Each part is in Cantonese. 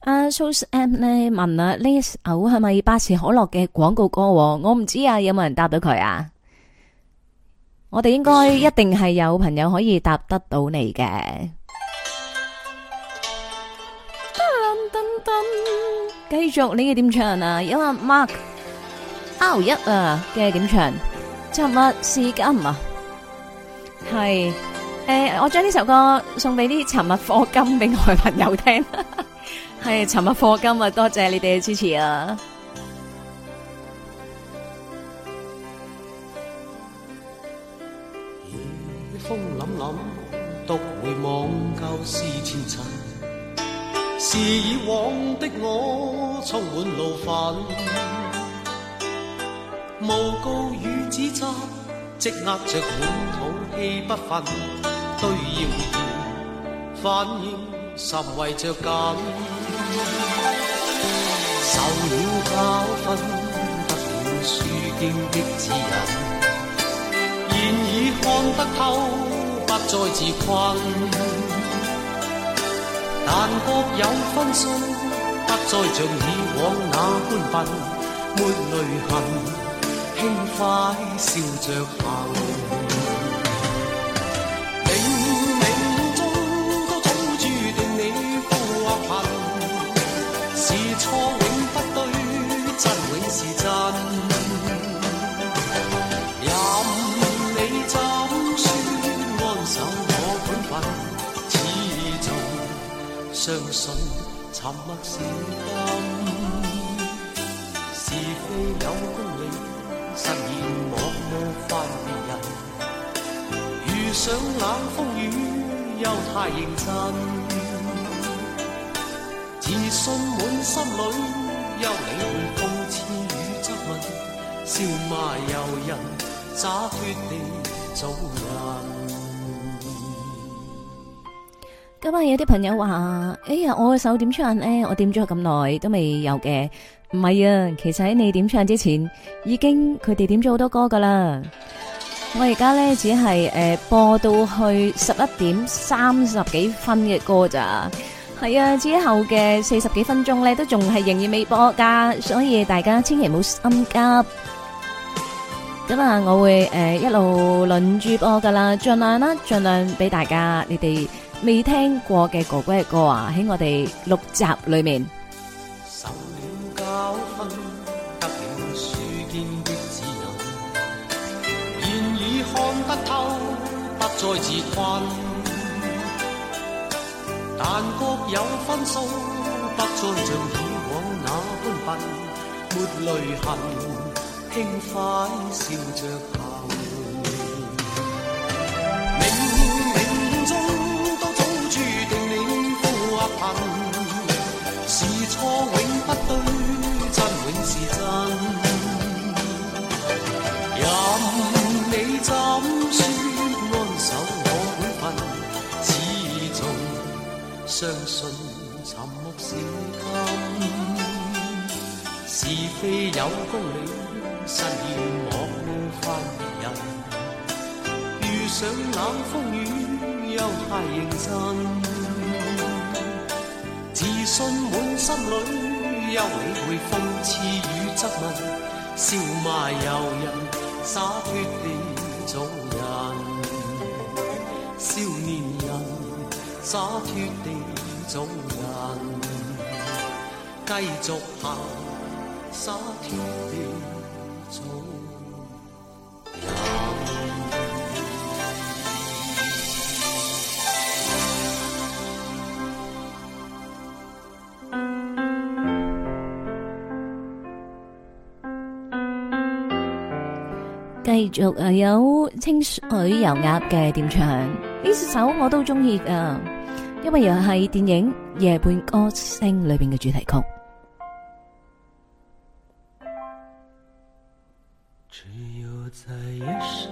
阿 Sos M 咧問啊，呢首係咪百事可樂嘅廣告歌？我唔知啊，有冇人答到佢啊？我哋應該一定係有朋友可以答得到你嘅。繼續你嘅點唱啊？有阿 Mark R1 啊嘅點唱，尋日是今啊，係我將呢首歌送俾啲尋日課金俾我嘅朋友聽，係尋日課金啊，多謝你哋嘅支持啊！ 夜風凜凜，獨回望舊事前塵。是以往的我充滿怒憤，誣告與指責積壓着滿肚氣不忿，對謠言反應甚為着緊。受了教訓，得了書經的指引，現已看得透，不再自困。但各有分數，不再像以往那般笨，沒淚痕，輕快笑着行。冥冥中都早注定你富或貧，是錯永不對，真永是真。任你怎說安守我本分，相信沉默是金，是非有公理，實現莫犯別人。遇上冷風雨，又太認真，自信滿心裏，休理會諷刺與質問，笑罵由人，灑脱地做人。 今日有啲朋友話：哎呀，我嘅手點唱咧？我點咗咁耐都未有嘅。唔係啊，其實喺你點唱之前，已經佢哋點咗好多歌噶啦。我而家咧只係播到去11:30幾分嘅歌咋。係啊，之後嘅40幾分鐘咧都仲係仍然未播噶，所以大家千祈唔好心急。咁啊，我會一路輪住播噶啦，盡量啦，盡量俾大家你哋未聽過嘅哥哥嘅歌啊，喺我哋6集裏面。 受了教訓，得了書經的指引，現已看得透，不再自困。但各有分數，不再像以往那般笨，沒淚痕，輕快笑着行。是錯永不對，真永是真。任你怎說安守我本分，始終相信沉默是金。是非有公理，實現莫犯別人。遇上冷風雨，又太認真。自信滿心裏，休理會諷刺與質問，笑罵由人，灑脱地做人。少年人，灑脱地做人，繼續行，灑脱地做人。 繼續有清水油鴨嘅點唱，呢首我都中意噶，因為又係電影《夜半歌聲》裏邊嘅主題曲。 只有在夜深，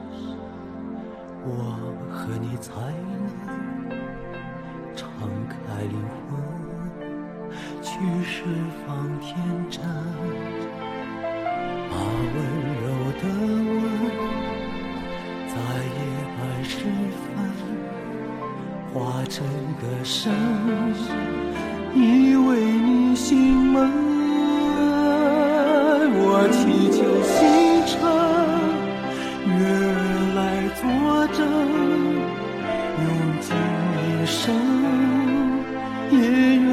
我和你才能敞開靈魂，去釋放天真。把溫柔的吻，在夜半時分化成歌聲，以為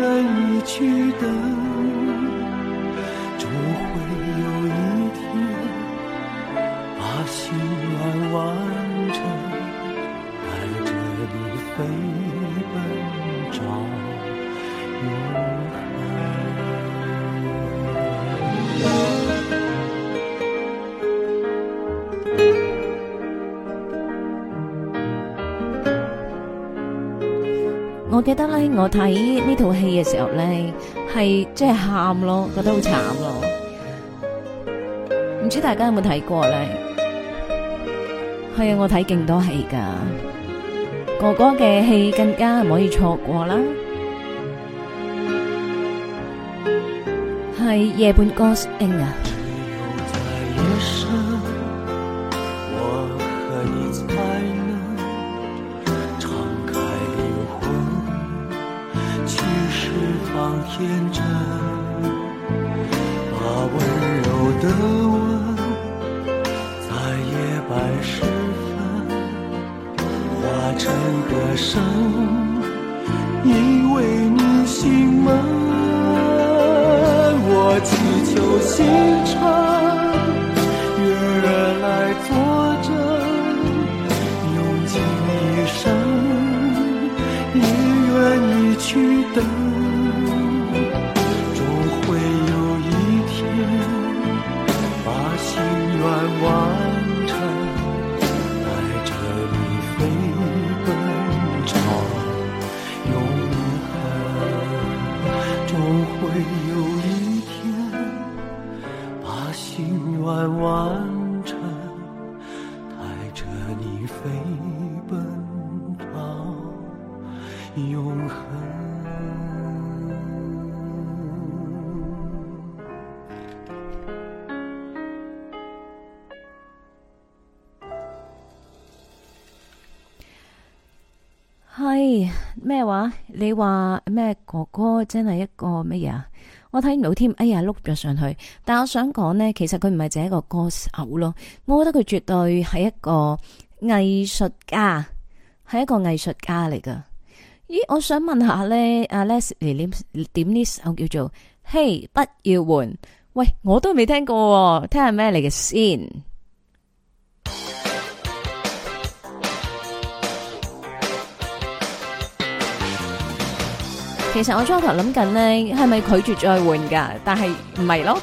愿意去等，终会有一天把心愿完成，带着你飞奔找永恒。 我記得咧，我睇呢套戲嘅時候咧，係即係喊咯，覺得好慘咯。唔知大家有冇睇過咧？係啊，我睇勁多戲噶，哥哥嘅戲更加唔可以錯過啦。係夜半歌聲啊！天真，把温柔的吻在夜白时分化成歌声，因为你心门，我祈求星辰月儿来作证，用尽一生也愿意去等，完成，带着你飞奔找永恒，终会有一天把心愿完成，带着你飞奔找永恒。係咩話？你話咩？哥哥真係一個乜嘢啊？我睇唔到添。哎呀，碌咗上去。但我想講呢，其實佢唔係淨係一個歌手咯。我覺得佢絕對係一個藝術家，係一個藝術家嚟噶。咦，我想問下呢，阿 Leslie 點呢首叫做《嘿不要換》？喂，我都未聽過，聽下咩嚟嘅先。其實我初頭諗緊呢，係咪拒絕再換噶？但係唔係咯。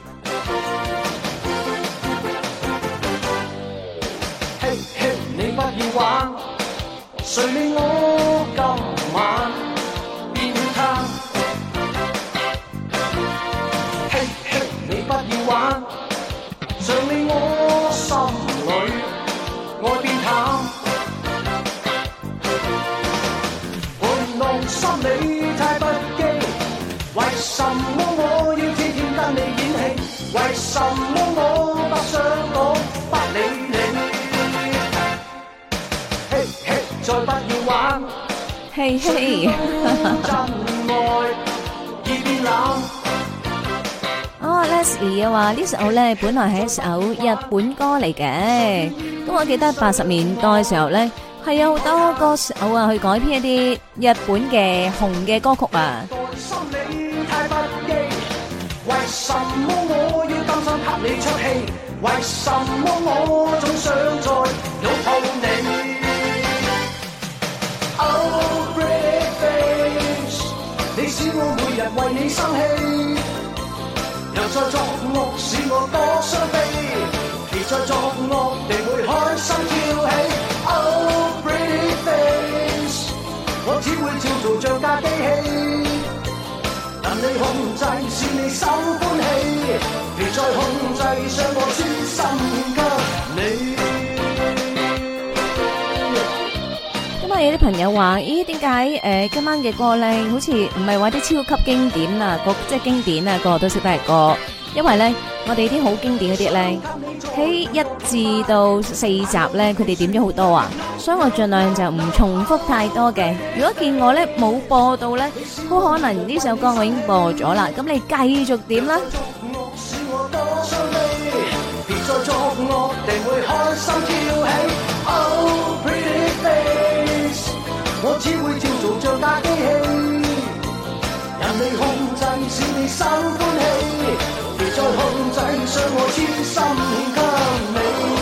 嘿嘿，你不要玩，誰理我今晚變貪？嘿嘿，你不要玩，誰理我心裏愛變淡？玩弄心理。為什麼我要天天跟你演戲？為什麼我不想講不理你？嘿嘿，再不要玩， 嘿嘿， 真愛已變冷。 哦 ，Leslie 嘅話呢首咧本來係一首日本歌嚟嘅，咁我記得80年代嘅時候咧係有好多歌手啊去改編一啲日本嘅紅嘅歌曲啊。 為什麼我要擔心給你出氣？為什麼我總想再擁抱你 ？Oh pretty face， 你使我每日為你生氣，又再作惡使我多傷悲，別再作惡地會開心跳起。Oh pretty face， 我只會照做像架機器。但你控制是你心歡喜，別再控制讓我專心給你。 咁啊，有啲朋友話：咦，點解今晚嘅歌咧，好似唔係話啲超級經典啊，即係經典啊，個個都識得係歌。因為咧，我哋啲好經典嗰啲咧，喺1至到4集咧，佢哋點咗好多啊，所以我盡量就唔重複太多嘅。如果見我咧冇播到咧，好可能呢首歌我已經播咗啦。咁你繼續點啦？ 未控制使你心歡喜，別再控制將我痴心獻給你。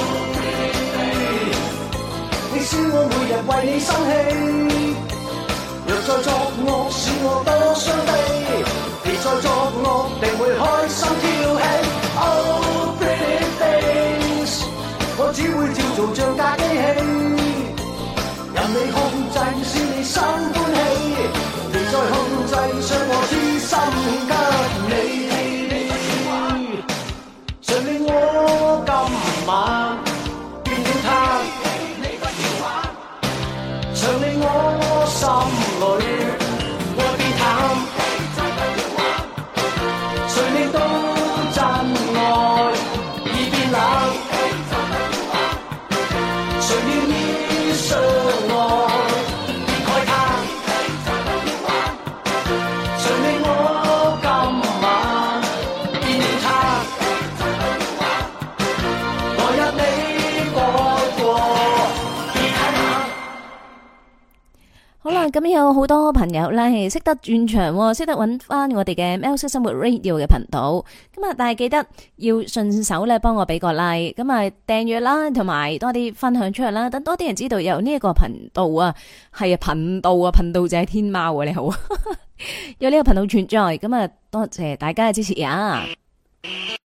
你笑我每日為你生氣，若再作惡使我多傷悲，別再作惡定會開心挑起。Oh pretty face， 我只會照做像架機器，任你控制使你心歡喜，別再控制將我痴心獻給你。誰令我今晚變了他？常令我心裏愛變淡，誰令到真愛已變冷？誰願意相愛別慨嘆？誰令我今晚變了他？來日你改過別太冷。 好啦，咁有好多朋友咧係識得轉場，識得揾翻我哋嘅喵式生活 Radio 嘅頻道。咁啊，但係記得要順手咧幫我俾個 like， 咁啊訂閱啦，同埋多啲分享出去啦，等多啲人知道有呢一個頻道啊，係啊頻道啊，頻道就係天貓啊，你好，有呢個頻道存在，咁啊多謝大家嘅支持啊！